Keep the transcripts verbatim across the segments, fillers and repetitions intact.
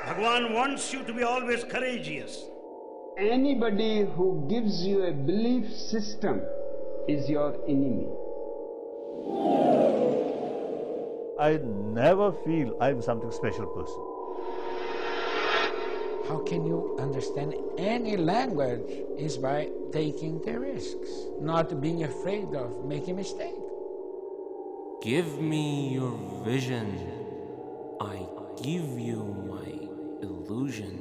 Bhagwan wants you to be always courageous. Anybody who gives you a belief system is your enemy. I never feel I'm something special person. How can you understand any language is by taking the risks, not being afraid of making a mistake. Give me your vision. I give you my illusion.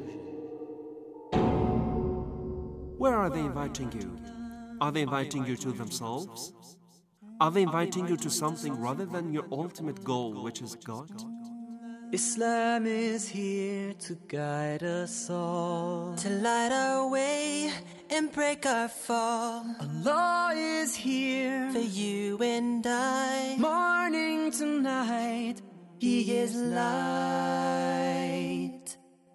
Where are they inviting you? Are they inviting you to themselves? Are they inviting you to something rather than your ultimate goal, which is God? Islam is here to guide us all, to light our way and break our fall. Allah is here for you and I, morning to night, He is light.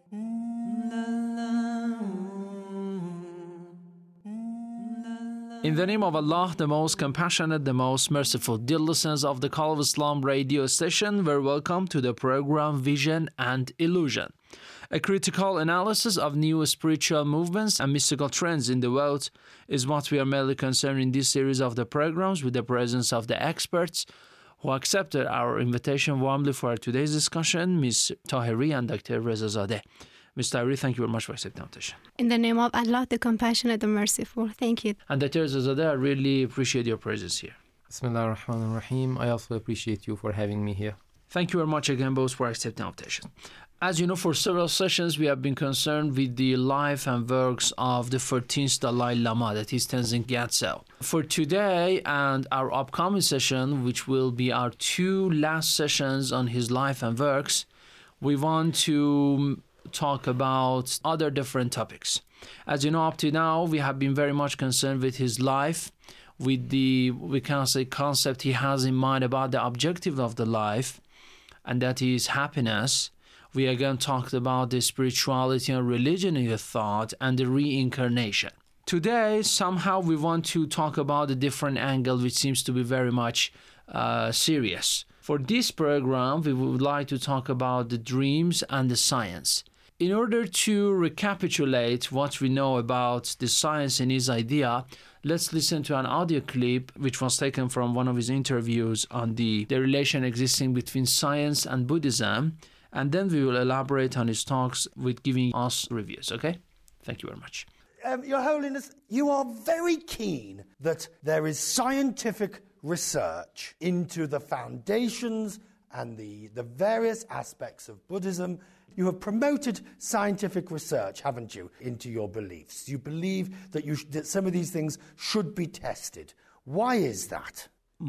In the name of Allah, the most compassionate, the most merciful. Dear listeners of the Call of Islam radio station, we're welcome to the program Vision and Illusion, a critical analysis of new spiritual movements and mystical trends in the world is what we are mainly concerned in this series of the programs, with the presence of the experts who accepted our invitation warmly for today's discussion, Miz Tahiri and Doctor Rezazadeh. Miz Tahiri, thank you very much for accepting the invitation. In the name of Allah, the compassionate and merciful. Thank you. And Doctor Rezazadeh, I really appreciate your presence here. Bismillah ar-Rahman ar-Rahim. I also appreciate you for having me here. Thank you very much again, both, for accepting the invitation. As you know, for several sessions, we have been concerned with the life and works of the fourteenth Dalai Lama, that is Tenzin Gyatso. For today and our upcoming session, which will be our two last sessions on his life and works, we want to talk about other different topics. As you know, up to now, we have been very much concerned with his life, with the, we can say, concept he has in mind about the objective of the life, and that is happiness. We again talked about the spirituality and religion in the thought and the reincarnation. Today, somehow we want to talk about a different angle, which seems to be very much uh, serious. For this program, we would like to talk about the dreams and the science. In order to recapitulate what we know about the science and his idea, let's listen to an audio clip which was taken from one of his interviews on the, the relation existing between science and Buddhism, and then we will elaborate on his talks with giving us reviews, okay? Thank you very much. Um, Your Holiness, you are very keen that there is scientific research into the foundations and the, the various aspects of Buddhism. You have promoted scientific research, haven't you, into your beliefs. You believe that, you sh- that some of these things should be tested. Why is that?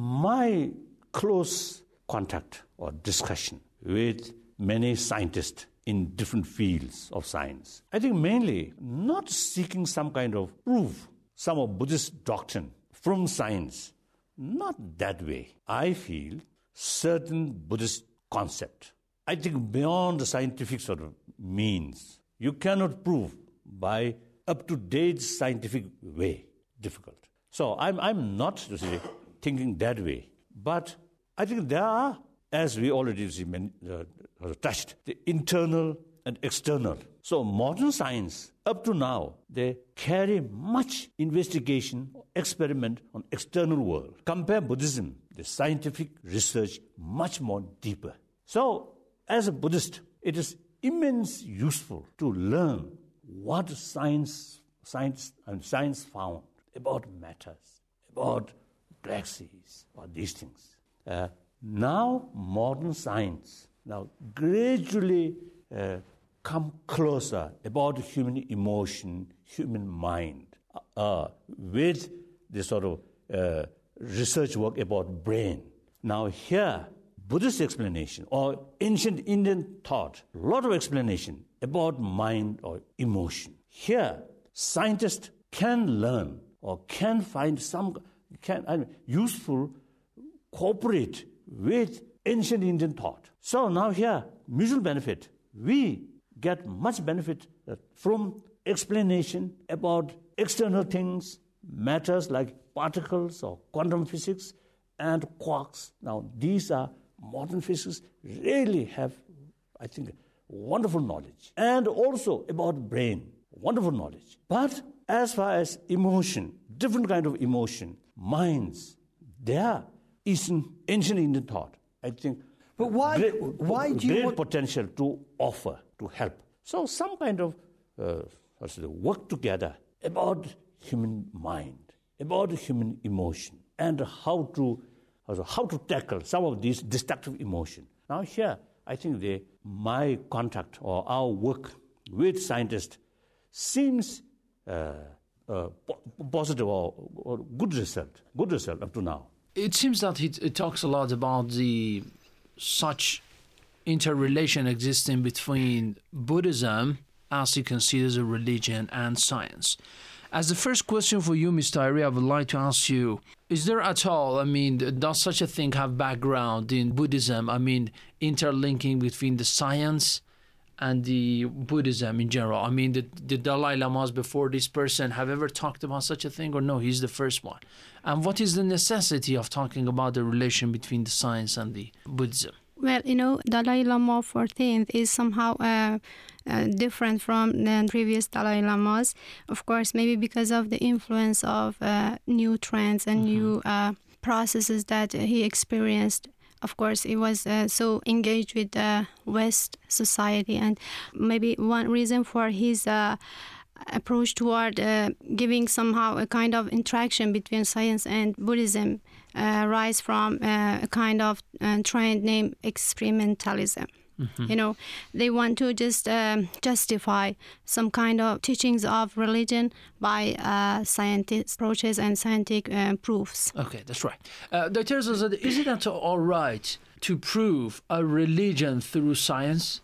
My close contact or discussion with many scientists in different fields of science, I think mainly not seeking some kind of proof, some of Buddhist doctrine from science, not that way. I feel certain Buddhist concept, I think beyond the scientific sort of means, you cannot prove by up-to-date scientific way. Difficult. So I'm I'm not to say, thinking that way, but I think there are, as we already uh, touched, the internal and external. So modern science, up to now, they carry much investigation, experiment on external world. Compare Buddhism, the scientific research, much more deeper. So, as a Buddhist, it is immensely useful to learn what science, science and science found about matters, about black seas, or these things. Uh, now, modern science now gradually uh, come closer about human emotion, human mind, uh, with the sort of uh, research work about brain. Now here, Buddhist explanation or ancient Indian thought, a lot of explanation about mind or emotion. Here, scientists can learn or can find some can I mean, useful cooperate with ancient Indian thought. So now here, mutual benefit. We get much benefit from explanation about external things, matters like particles or quantum physics and quarks. Now, these are modern physics really have, I think, wonderful knowledge. And also about brain, wonderful knowledge. But as far as emotion, different kind of emotion, minds, there is an ancient Indian thought, I think. But why, great, why do you great want... potential to offer, to help. So some kind of uh, what's it, work together about human mind, about human emotion, and how to how to tackle some of these destructive emotion. Now here, I think the my contact or our work with scientists seems uh, uh, positive or, or good result, good result up to now. It seems that it, it talks a lot about the such interrelation existing between Buddhism, as it considers a religion, and science. As the first question for you, Mister Tyree, I would like to ask you, is there at all, I mean, does such a thing have background in Buddhism? I mean, interlinking between the science and the Buddhism in general? I mean, the, the Dalai Lamas before this person have ever talked about such a thing, or no, he's the first one? And what is the necessity of talking about the relation between the science and the Buddhism? Well, you know, Dalai Lama fourteenth is somehow uh, uh, different from the previous Dalai Lamas. Of course, maybe because of the influence of uh, new trends and mm-hmm. new uh, processes that he experienced. Of course, he was uh, so engaged with the West society, and maybe one reason for his uh, approach toward uh, giving somehow a kind of interaction between science and Buddhism uh, rise from uh, a kind of uh, trend named experimentalism. Mm-hmm. You know, they want to just um, justify some kind of teachings of religion by uh, scientific approaches and scientific uh, proofs. Okay, that's right. Uh, Doctor Zazad, is it at all right to prove a religion through science?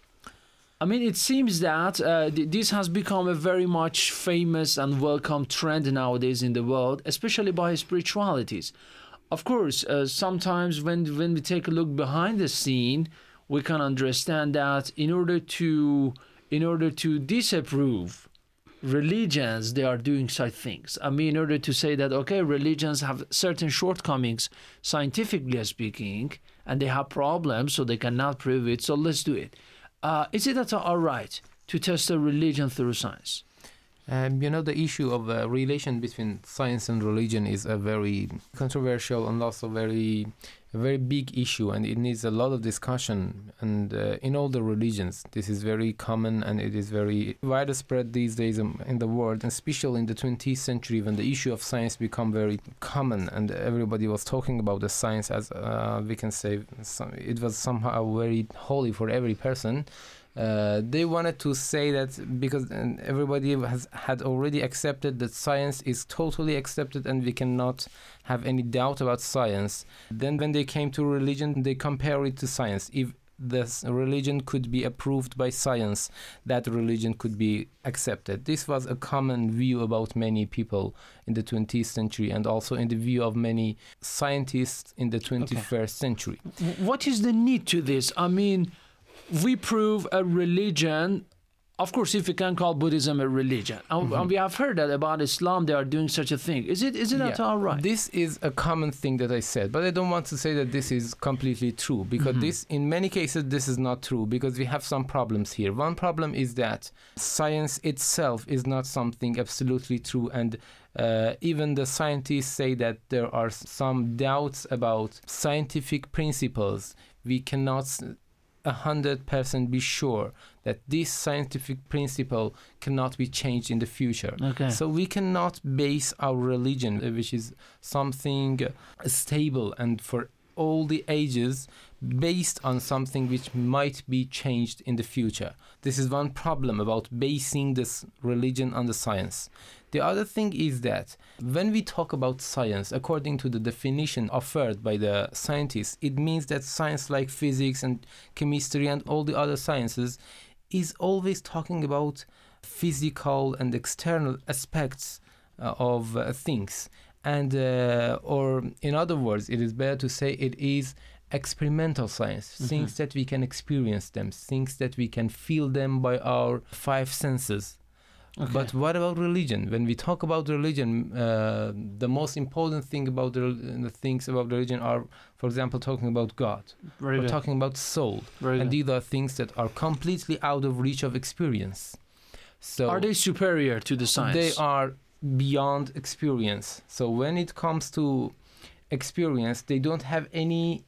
I mean, it seems that uh, th- this has become a very much famous and welcome trend nowadays in the world, especially by spiritualities. Of course, uh, sometimes when when we take a look behind the scene, we can understand that in order to in order to disapprove religions, they are doing such things. I mean, in order to say that, okay, religions have certain shortcomings, scientifically speaking, and they have problems, so they cannot prove it, so let's do it. Uh, is it at all right to test a religion through science? Um, you know, the issue of uh, relation between science and religion is a very controversial and also very, a very big issue, and it needs a lot of discussion. And uh, in all the religions, this is very common and it is very widespread these days in the world, and especially in the twentieth century when the issue of science become very common and everybody was talking about the science as uh, we can say it was somehow very holy for every person. Uh, they wanted to say that because everybody has had already accepted that science is totally accepted and we cannot have any doubt about science. Then when they came to religion, they compare it to science. If this religion could be approved by science, that religion could be accepted. This was a common view about many people in the twentieth century and also in the view of many scientists in the twenty-first okay. century. What is the need to this? I mean, we prove a religion, of course, if we can call Buddhism a religion. Mm-hmm. And we have heard that about Islam, they are doing such a thing. Is it is it yeah. at all right? This is a common thing that I said, but I don't want to say that this is completely true, because mm-hmm. this, in many cases, this is not true, because we have some problems here. One problem is that science itself is not something absolutely true, and Uh, even the scientists say that there are some doubts about scientific principles. We cannot a hundred percent be sure that this scientific principle cannot be changed in the future. Okay. So we cannot base our religion, which is something stable and for all the ages, based on something which might be changed in the future. This is one problem about basing this religion on the science. The other thing is that when we talk about science, according to the definition offered by the scientists, it means that science like physics and chemistry and all the other sciences is always talking about physical and external aspects uh, of uh, things. And, uh, or in other words, it is better to say it is experimental science, mm-hmm. things that we can experience them, things that we can feel them by our five senses. Okay. But what about religion? When we talk about religion, uh, the most important thing about the, the things about religion are, for example, talking about God. Very We're good. talking about soul. Very and good. these are things that are completely out of reach of experience. So are they superior to the science? They are beyond experience. So when it comes to experience, they don't have any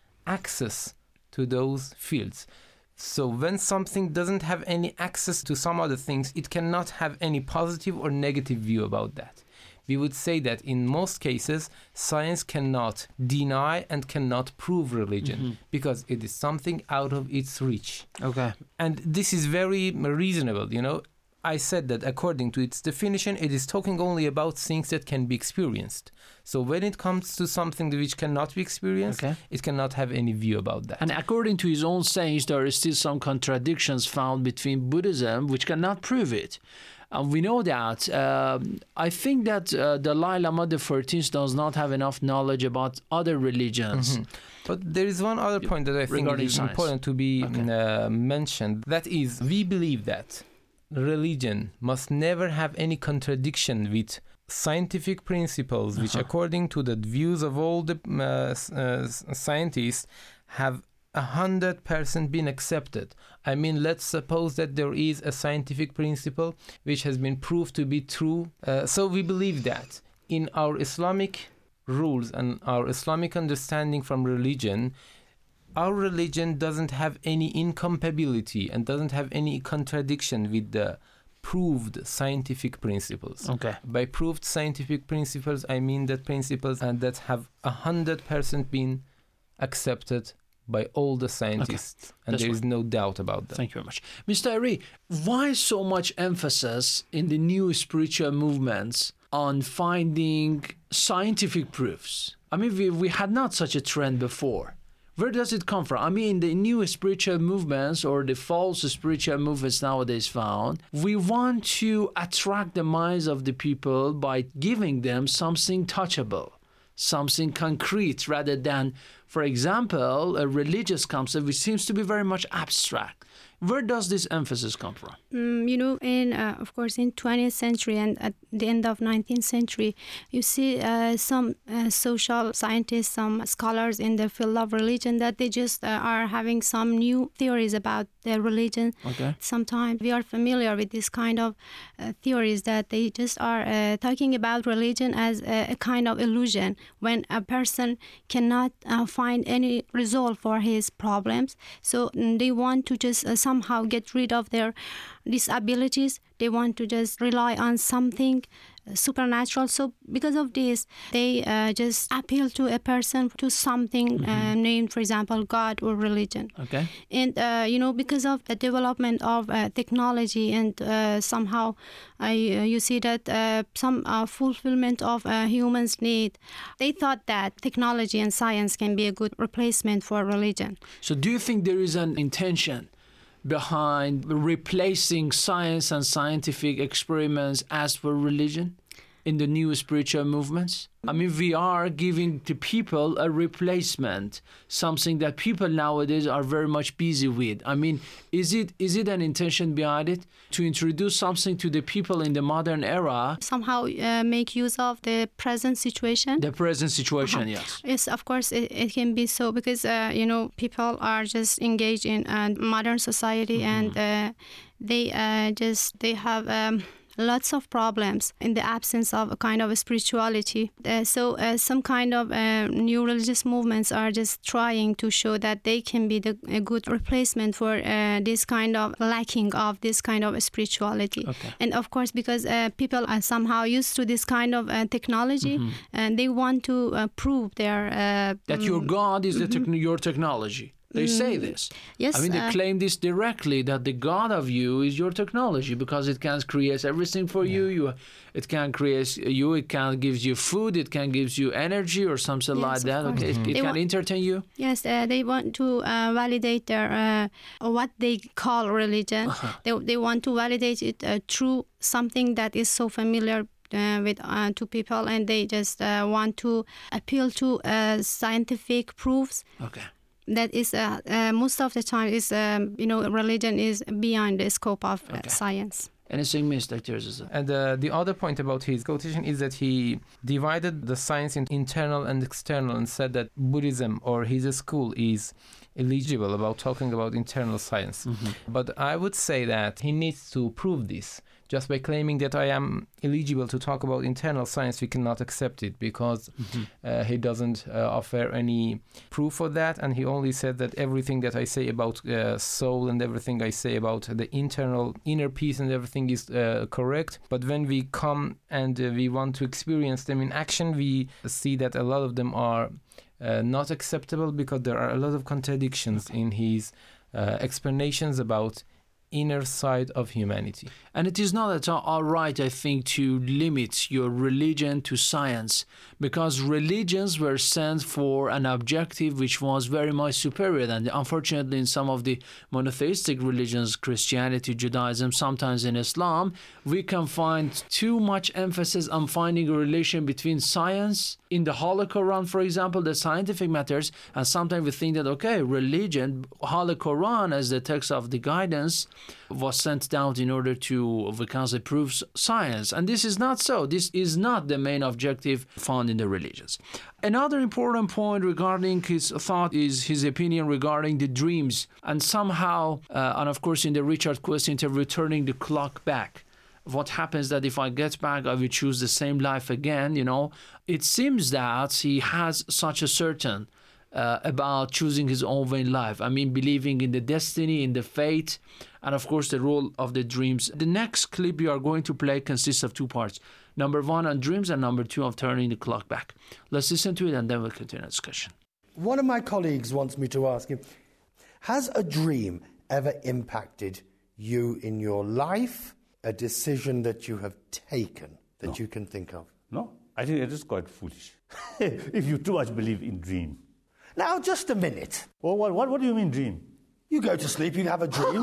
access to those fields. So when something doesn't have any access to some other things, it cannot have any positive or negative view about that. We would say that in most cases, science cannot deny and cannot prove religion mm-hmm. because it is something out of its reach. Okay. And this is very reasonable, you know. I said that according to its definition, it is talking only about things that can be experienced. So when it comes to something which cannot be experienced, okay. it cannot have any view about that. And according to his own sayings, there are still some contradictions found between Buddhism, which cannot prove it. And we know that. Uh, I think that uh, Dalai Lama the fourteenth does not have enough knowledge about other religions. Mm-hmm. But there is one other point that I think is science. important to be okay. uh, mentioned. That is, we believe that religion must never have any contradiction with scientific principles, which uh-huh. according to the views of all the uh, uh, scientists have a hundred percent been accepted. I mean, let's suppose that there is a scientific principle which has been proved to be true. Uh, so we believe that in our Islamic rules and our Islamic understanding from religion, our religion doesn't have any incompatibility and doesn't have any contradiction with the proved scientific principles. Okay. By proved scientific principles, I mean that principles and that have a hundred percent been accepted by all the scientists, okay. and That's there is no doubt about that. Thank you very much. Mister Ari, why so much emphasis in the new spiritual movements on finding scientific proofs? I mean, we, we had not such a trend before. Where does it come from? I mean, the new spiritual movements or the false spiritual movements nowadays found, we want to attract the minds of the people by giving them something touchable, something concrete, rather than, for example, a religious concept which seems to be very much abstract. Where does this emphasis come from? Mm, you know, in uh, of course, in twentieth century and at the end of nineteenth century, you see uh, some uh, social scientists, some scholars in the field of religion that they just uh, are having some new theories about their religion. Okay. Sometimes we are familiar with this kind of uh, theories that they just are uh, talking about religion as a, a kind of illusion. When a person cannot uh, find any resolve for his problems, so mm, they want to just uh, somehow get rid of their disabilities. They want to just rely on something supernatural. So because of this, they uh, just appeal to a person, to something mm-hmm. uh, named, for example, God or religion. Okay. And, uh, you know, because of the development of uh, technology and uh, somehow uh, you see that uh, some uh, fulfillment of uh, humans' need, they thought that technology and science can be a good replacement for religion. So do you think there is an intention behind replacing science and scientific experiments as for religion in the new spiritual movements? I mean, we are giving to people a replacement, something that people nowadays are very much busy with. I mean, is it is it an intention behind it to introduce something to the people in the modern era? Somehow uh, make use of the present situation? The present situation, uh-huh. yes. Yes, of course, it, it can be so because, uh, you know, people are just engaged in uh, modern society mm-hmm. and uh, they uh, just, they have... Um, lots of problems in the absence of a kind of a spirituality. Uh, so uh, some kind of uh, new religious movements are just trying to show that they can be the, a good replacement for uh, this kind of lacking of this kind of spirituality. Okay. And of course, because uh, people are somehow used to this kind of uh, technology, mm-hmm. and they want to uh, prove their... Uh, that your God is the te- your technology. They say this. Yes. I mean, they uh, claim this directly, that the God of you is your technology because it can create everything for yeah. you. You, it can create you. It can gives you food. It can gives you energy or something yes, like that. Okay, mm-hmm. it, it can wa- entertain you. Yes, uh, they want to uh, validate their uh, what they call religion. Uh-huh. They they want to validate it uh, through something that is so familiar. Uh, with uh, to people, and they just uh, want to appeal to uh, scientific proofs. Okay. That is uh, uh, most of the time is um, you know religion is beyond the scope of uh, okay. science. Anything missed, Doctor Aziza? And uh, the other point about his quotation is that he divided the science into internal and external and said that Buddhism or his school is eligible about talking about internal science. Mm-hmm. But I would say that he needs to prove this. Just by claiming that I am eligible to talk about internal science, we cannot accept it because mm-hmm. uh, he doesn't uh, offer any proof for that. And he only said that everything that I say about uh, soul and everything I say about the internal inner peace and everything is uh, correct. But when we come and uh, we want to experience them in action, we see that a lot of them are uh, not acceptable because there are a lot of contradictions in his uh, explanations about inner side of humanity. And it is not at all right, I think, to limit your religion to science, because religions were sent for an objective which was very much superior. And unfortunately, in some of the monotheistic religions, Christianity, Judaism, sometimes in Islam, we can find too much emphasis on finding a relation between science. In the Holy Quran, for example, the scientific matters, and sometimes we think that, okay, religion, Holy Quran as the text of the guidance, was sent down in order to, because it proves science. And this is not so. This is not the main objective found in the religions. Another important point regarding his thought is his opinion regarding the dreams. And somehow, uh, and of course in the Richard Quest interview, turning the clock back. What happens that if I get back, I will choose the same life again, you know. It seems that he has such a certain uh, about choosing his own way in life. I mean, believing in the destiny, in the fate, and of course the role of the dreams. The next clip you are going to play consists of two parts. Number one on dreams and number two of turning the clock back. Let's listen to it and then we'll continue the discussion. One of my colleagues wants me to ask you, has a dream ever impacted you in your life? A decision that you have taken that No. you can think of? No, I think it is quite foolish. If you too much believe in dream. Now, just a minute. Well, what, what, what do you mean dream? You go to sleep, you have a dream.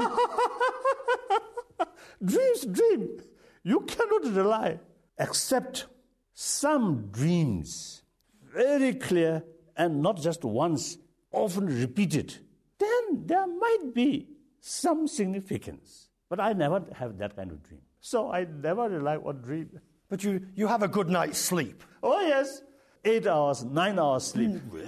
Dreams, dream. You cannot rely, except some dreams, very clear and not just once, often repeated. Then there might be some significance. But I never have that kind of dream. So I never rely on dream. But you, you have a good night's sleep. Oh, yes. Eight hours, nine hours sleep.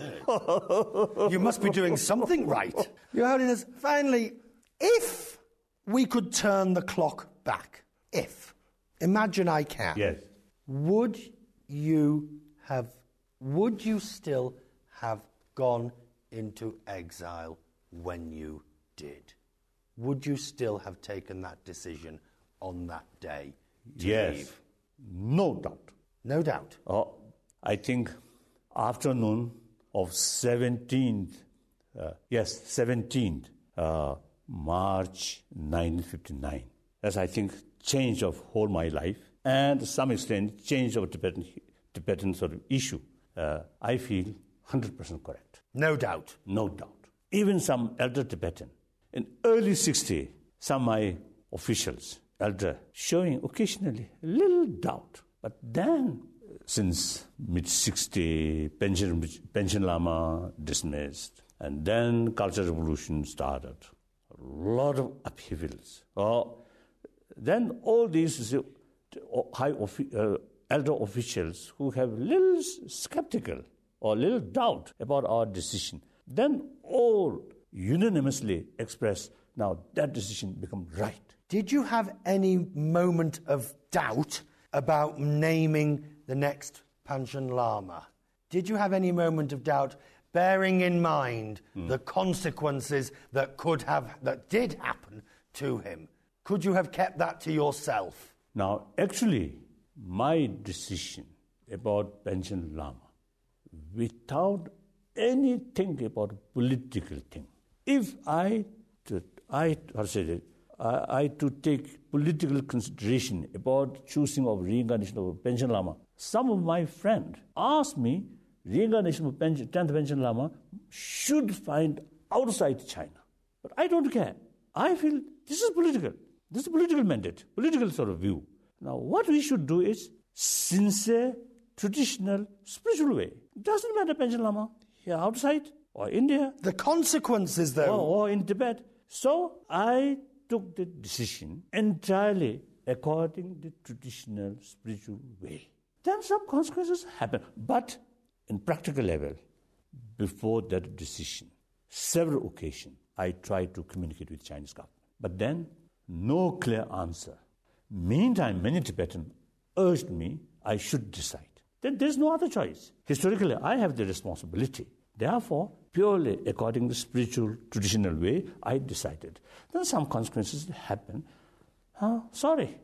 You must be doing something right. Your Holiness, finally, if we could turn the clock back, if, imagine I can. Yes. Would you have, would you still have gone into exile when you did? Would you still have taken that decision on that day to Yes. leave? No doubt. No doubt. Oh, I think afternoon of seventeenth, uh, yes, seventeenth uh, March nineteen fifty-nine. That's, I think, change of whole my life and to some extent change of Tibetan, Tibetan sort of issue. Uh, I feel one hundred percent correct. No doubt. No doubt. Even some elder Tibetan, in early sixties, some of my officials, elder, showing occasionally a little doubt. But then, since mid sixties, pension, pension Lama dismissed, and then Cultural Revolution started. A lot of upheavals. Oh, then all these uh, high uh, elder officials who have little skeptical or little doubt about our decision, then all unanimously express, now that decision become right. Did you have any moment of doubt about naming the next Panchen Lama? Did you have any moment of doubt, bearing in mind mm. the consequences that could have, that did happen to him? Could you have kept that to yourself? Now, actually, my decision about Panchen Lama, without anything about political thing, if I, to, I, how to say it, I, I to take political consideration about choosing of reincarnation of Panchen Lama, some of my friends asked me, reincarnation of tenth Panchen Lama should find outside China. But I don't care. I feel this is political. This is a political mandate, political sort of view. Now, what we should do is sincere, traditional, spiritual way. It doesn't matter Panchen Lama here outside or India. The consequences, though. Or, or in Tibet. So I took the decision entirely according to the traditional spiritual way, then some consequences happen. But in practical level, before that decision, several occasions, I tried to communicate with Chinese government. But then, no clear answer. Meantime, many Tibetans urged me I should decide. Then there's no other choice. Historically, I have the responsibility. Therefore, purely according to the spiritual, traditional way, I decided. Then some consequences happen. Uh, sorry.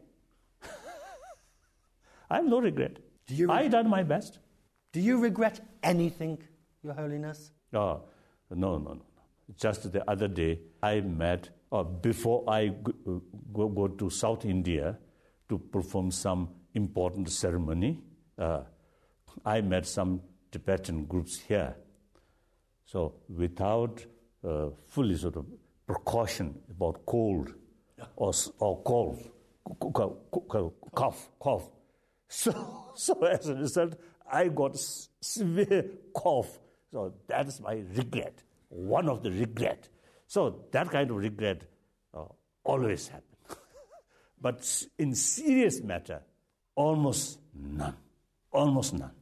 I have no regret. Do you I done my best. Do you regret anything, Your Holiness? Oh, no, no, no. Just the other day, I met, or before I go, go, go to South India to perform some important ceremony, uh, I met some Tibetan groups here. So without uh, fully sort of precaution about cold or, or cough, cough, cough. So, so as a result, I got severe cough. So that is my regret, one of the regret. So that kind of regret uh, always happens. But in serious matter, almost none, almost none.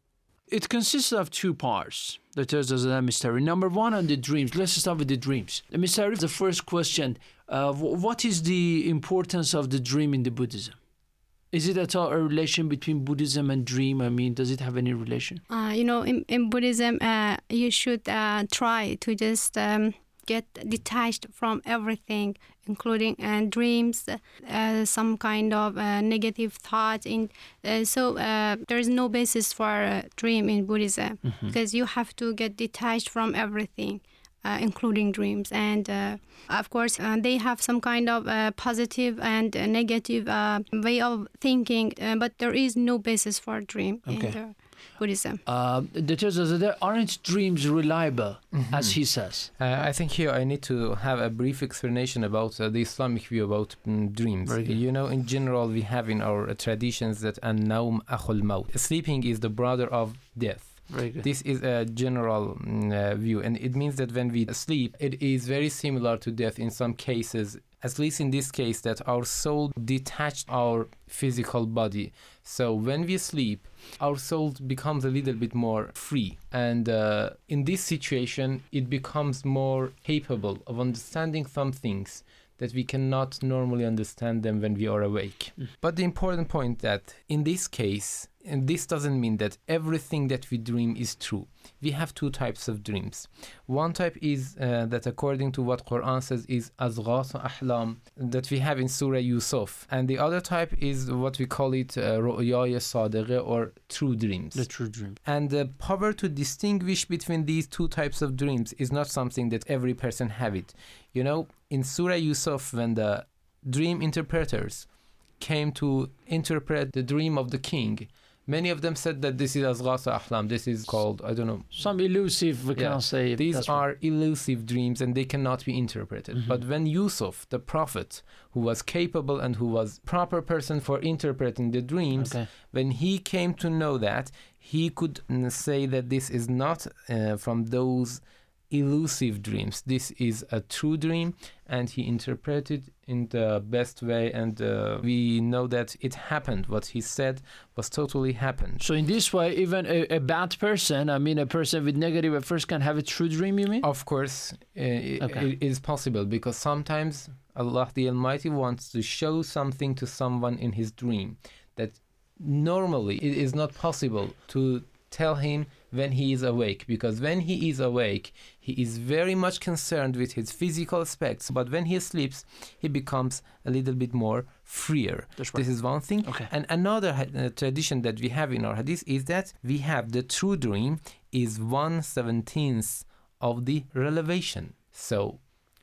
It consists of two parts, the Terzazadeh mystery. Number one, on the dreams. Let's start with the dreams. Mister Arif, the first question, uh, what is the importance of the dream in the Buddhism? Is it at all a relation between Buddhism and dream? I mean, does it have any relation? Uh, you know, in, in Buddhism, uh, you should uh, try to just um, get detached from everything, including uh, dreams, uh, some kind of uh, negative thought. In uh, so uh, there is no basis for a dream in Buddhism, mm-hmm. because you have to get detached from everything, uh, including dreams. And uh, of course, uh, they have some kind of uh, positive and uh, negative uh, way of thinking, uh, but there is no basis for a dream okay. in the Buddhism. Uh, the Terzazadeh, aren't dreams reliable, mm-hmm. as he says? Uh, I think here I need to have a brief explanation about uh, the Islamic view about mm, dreams. You know, in general, we have in our uh, traditions that an-nawm akhul maut. Sleeping is the brother of death. Very good. This is a general mm, uh, view, and it means that when we sleep, it is very similar to death in some cases, at least in this case, that our soul detached our physical body. So when we sleep, our soul becomes a little bit more free. And uh, in this situation, it becomes more capable of understanding some things that we cannot normally understand them when we are awake. Mm. But the important point that in this case, and this doesn't mean that everything that we dream is true. We have two types of dreams. One type is uh, that according to what Quran says is azghas ahlam, that we have in Surah Yusuf. And the other type is what we call it uh, ru'yaya sadiqah, or true dreams. The true dream. And the power to distinguish between these two types of dreams is not something that every person have it. You know, in Surah Yusuf, when the dream interpreters came to interpret the dream of the king, many of them said that this is azghas ahlam. This is called, I don't know, some elusive, we yeah. can say. These are right. elusive dreams and they cannot be interpreted. Mm-hmm. But when Yusuf, the prophet, who was capable and who was proper person for interpreting the dreams, okay. when he came to know that, he could say that this is not uh, from those elusive dreams. This is a true dream, and he interpreted in the best way, and uh, we know that it happened. What he said was totally happened. So in this way, even a, a bad person, I mean a person with negative affairs, can have a true dream, you mean? Of course, uh, okay. it is possible, because sometimes Allah the Almighty wants to show something to someone in his dream that normally it is not possible to tell him when he is awake, because when he is awake, he is very much concerned with his physical aspects, but when he sleeps, he becomes a little bit more freer. That's right. This is one thing. Okay. And another uh, tradition that we have in our hadith is that we have the true dream is one seventeenth of the revelation. So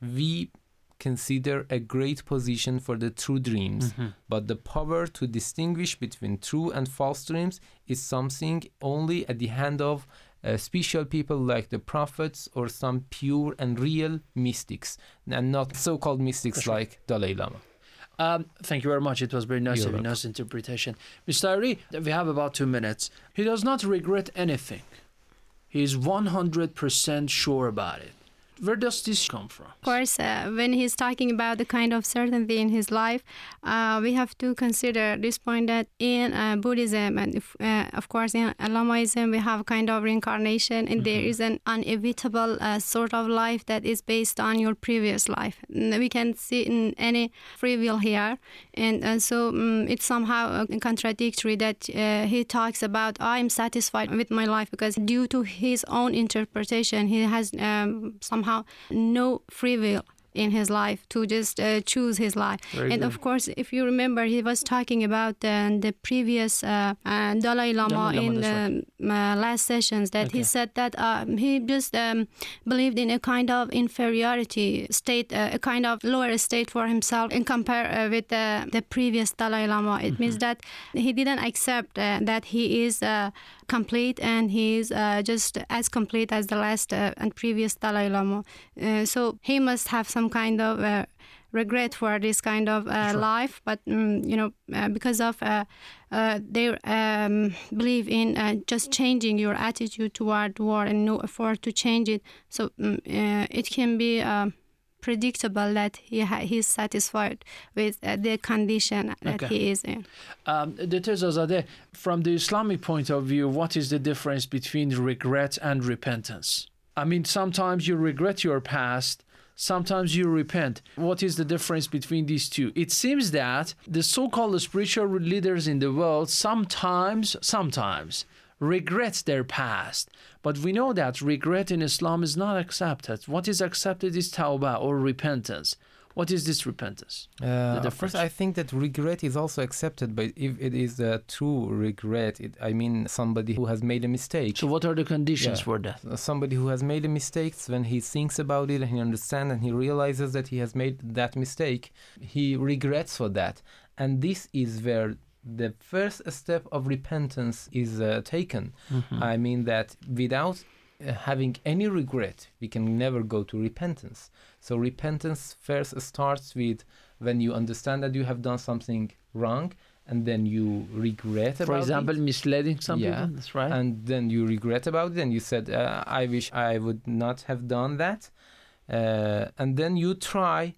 we consider a great position for the true dreams, mm-hmm. but the power to distinguish between true and false dreams is something only at the hand of uh, special people like the prophets or some pure and real mystics, and not so-called mystics That's like right. Dalai Lama. Um, thank you very much. It was very nice, a nice interpretation. Mister Ari, we have about two minutes. He does not regret anything. He is one hundred percent sure about it. Where does this come from? Of course, uh, when he's talking about the kind of certainty in his life, uh, we have to consider this point that in uh, Buddhism and if, uh, of course in Lamaism, we have kind of reincarnation, and mm-hmm. there is an inevitable uh, sort of life that is based on your previous life. We can see in any free will here, and, and so um, it's somehow uh, contradictory that uh, he talks about I'm satisfied with my life, because due to his own interpretation, he has um, somehow no free will in his life to just uh, choose his life. Very and good. Of course, if you remember, he was talking about uh, the previous uh, uh, Dalai Lama, Dalai Lama in the right. uh, last sessions, that okay. he said that uh, he just um, believed in a kind of inferiority state, uh, a kind of lower state for himself in compare uh, with uh, the previous Dalai Lama. It mm-hmm. means that he didn't accept uh, that he is uh, complete and he is uh, just as complete as the last uh, and previous Dalai Lama. Uh, so he must have some kind of uh, regret for this kind of uh, sure. life, but um, you know, uh, because of uh, uh, their um, belief in uh, just changing your attitude toward war and no effort to change it, so um, uh, it can be uh, predictable that he ha- he's satisfied with uh, the condition that okay. he is in. Um, Doctor Azadeh, from the Islamic point of view, what is the difference between regret and repentance? I mean, sometimes you regret your past, sometimes you repent. What is the difference between these two? It seems that the so-called spiritual leaders in the world sometimes, sometimes regret their past. But we know that regret in Islam is not accepted. What is accepted is tawbah or repentance. What is this repentance? Uh, first, I think that regret is also accepted, but if it is a true regret, it, I mean somebody who has made a mistake. So what are the conditions yeah. for that? Somebody who has made a mistake, when he thinks about it and he understands and he realizes that he has made that mistake, he regrets for that. And this is where the first step of repentance is uh, taken. Mm-hmm. I mean that without uh, having any regret, we can never go to repentance. So repentance first starts with when you understand that you have done something wrong, and then you regret about it. For example, it. misleading some yeah. people, that's right. And then you regret about it, and you said, uh, I wish I would not have done that. Uh, and then you try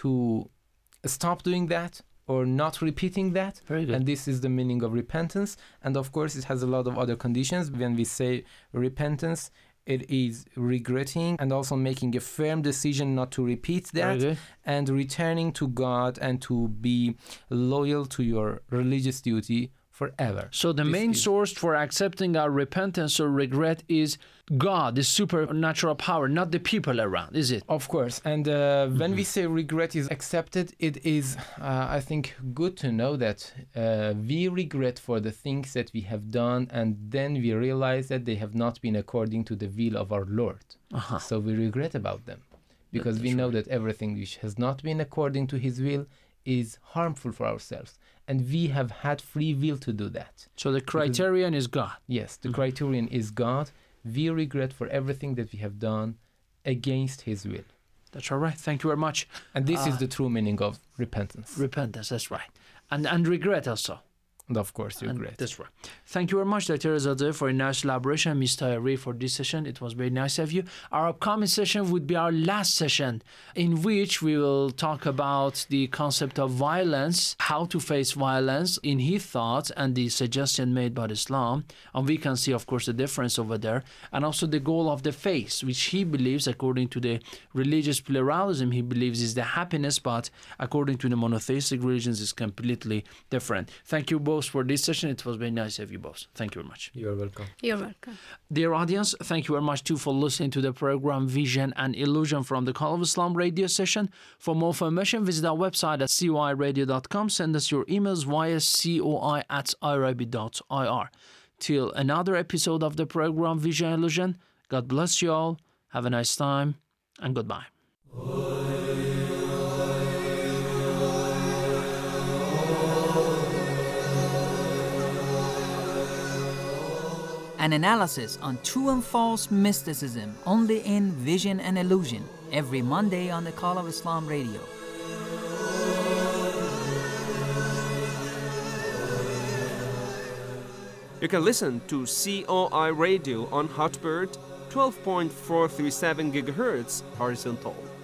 to stop doing that, or not repeating that. Very good. And this is the meaning of repentance. And of course, it has a lot of other conditions. When we say repentance, it is regretting and also making a firm decision not to repeat that, and returning to God and to be loyal to your religious duty forever. So the this main is... source for accepting our repentance or regret is God, the supernatural power, not the people around, is it? Of course. And uh, mm-hmm. when we say regret is accepted, it is, uh, I think, good to know that uh, we regret for the things that we have done, and then we realize that they have not been according to the will of our Lord. Uh-huh. So we regret about them, because That's we know right. that everything which has not been according to His will is harmful for ourselves. And we have had free will to do that. So the criterion because, is God. Yes, the mm-hmm. criterion is God. We regret for everything that we have done against His will. That's all right. Thank you very much. And this uh, is the true meaning of repentance. Repentance, that's right. And and regret also. And of course, regret. And that's right. Thank you very much, Doctor Azadeh, for a nice elaboration, Miz Taheri, for this session. It was very nice of you. Our upcoming session would be our last session, in which we will talk about the concept of violence, how to face violence in his thoughts and the suggestion made by Islam. And we can see, of course, the difference over there. And also the goal of the faith, which he believes, according to the religious pluralism, he believes is the happiness, but according to the monotheistic religions, is completely different. Thank you both for this session. It was very nice of you both. Thank you very much. You're welcome. You're welcome. Dear audience, thank you very much too for listening to the program Vision and Illusion from the Call of Islam radio session. For more information, visit our website at coi radio dot com. Send us your emails via coi at irabi dot ir. Till another episode of the program Vision and Illusion, God bless you all. Have a nice time and goodbye. An analysis on true and false mysticism only in Vision and Illusion every Monday on the Call of Islam radio. You can listen to C O I Radio on Hotbird, twelve point four three seven gigahertz horizontal.